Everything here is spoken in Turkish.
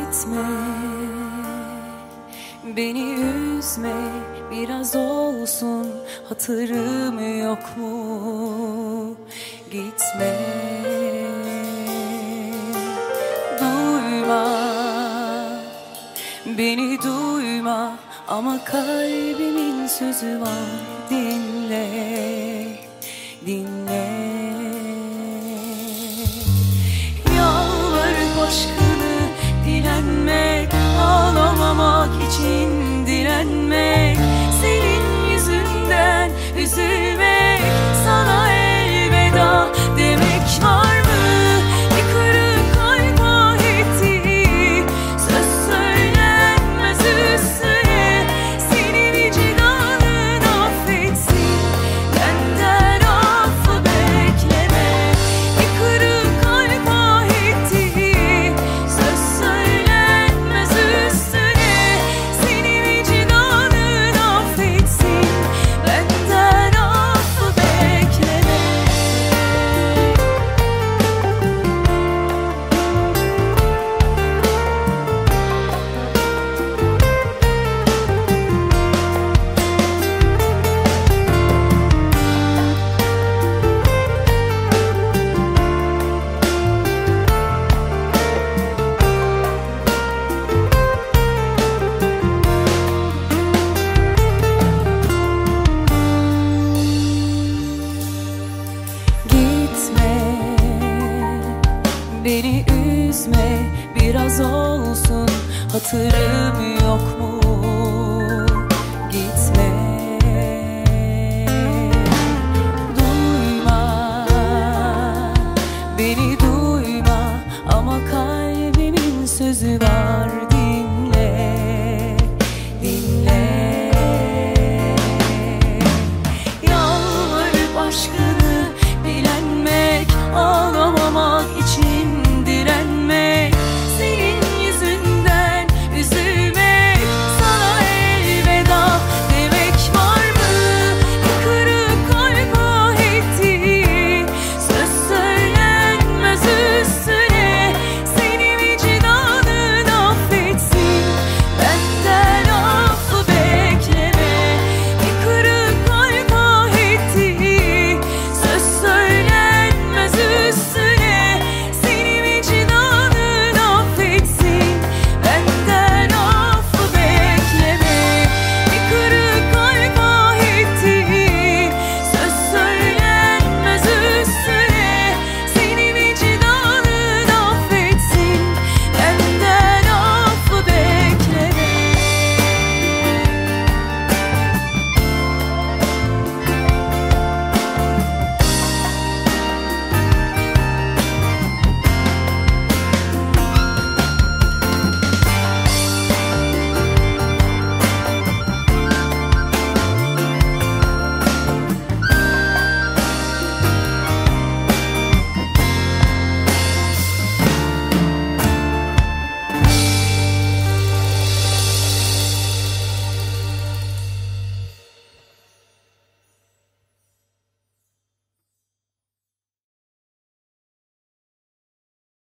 Gitme, beni üzme, biraz olsun hatırım yok mu? Gitme, duyma, beni duyma, ama kalbimin sözü var, dinle, dinle. Yalvarıp aşkını dilenmek, ağlamamak için dilenmek, senin yüzünden üzülmek, sana elveda demek var mı? Bir kırık kalp ahetti, söz söylenmez üstüne, senin vicdanın affetsin, benden affı bekleme. Bir kırık kalp ahetti, söz söylenmez üstüne, senin vicdanın affetsin, benden affı bekleme. Beni üzme, biraz olsun hatırım yok mu? Gitme, duyma, beni duyma, ama kalbimin sözü var.